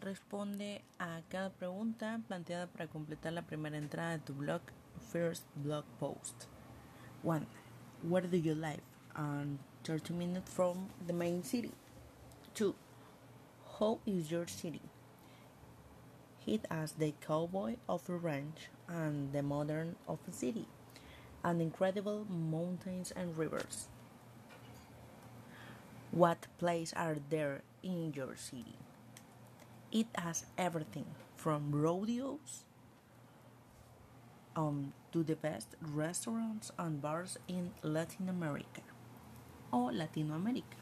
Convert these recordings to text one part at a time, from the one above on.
Responde a cada pregunta planteada para completar la primera entrada de tu blog. First blog post. 1. Where do you live? 30 minutes from the main city. 2. How is your city? It has the cowboy of a ranch and the modern of a city, and incredible mountains and rivers. What places are there in your city? It has everything from rodeos to the best restaurants and bars in Latin America or Latino America.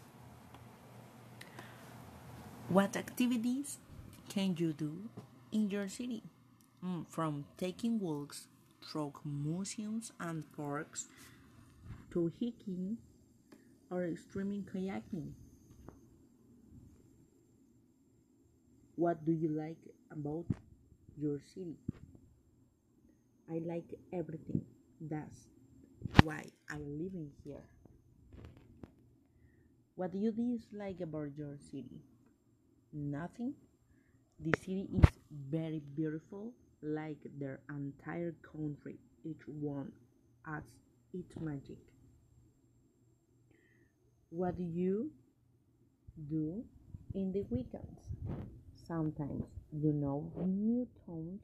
What activities can you do in your city? From taking walks through museums and parks to hiking or extreme kayaking. What do you like about your city? I like everything. That's why I'm living here. What do you dislike about your city? Nothing. The city is very beautiful, like their entire country. Each one adds its magic. What do you do in the weekends? Sometimes new towns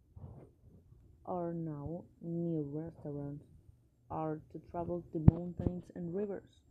or now new restaurants or to travel to mountains and rivers.